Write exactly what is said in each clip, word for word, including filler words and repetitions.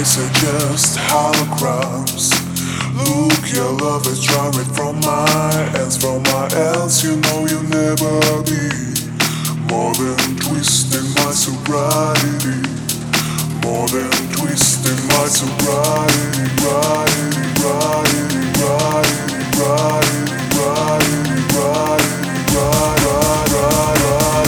eyes are just holograms. Look, your love is drawn from my hands, from my hands. You know you'll never be more than twisting my sobriety, more than twisting my sobriety, righty, righty, righty, righty, righty, righty, righty,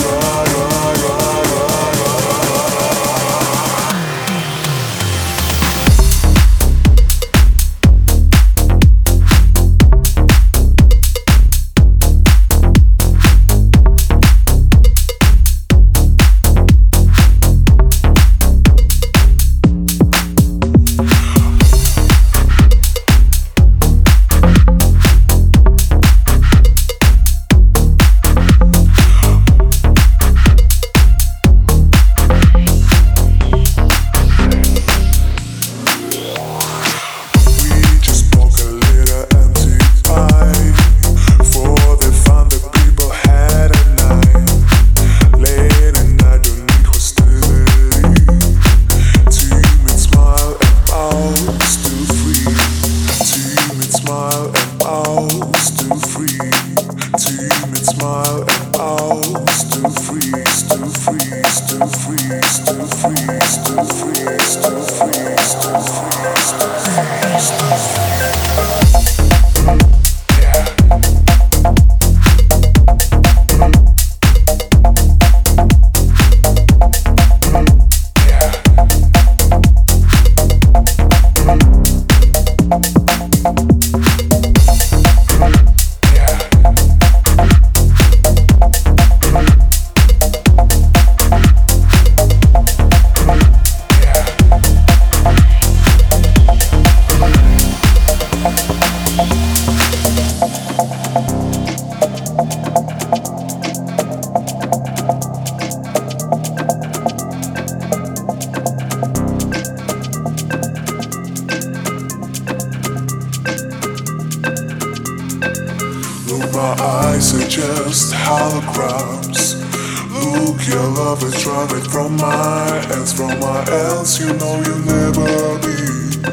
my eyes are just holograms. Look, your love is drawn from my hands, from my hands. You know you'll never be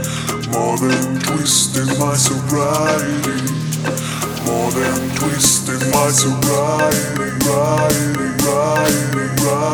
more than twisting my sobriety, more than twisting my sobriety, righty, righty, righty.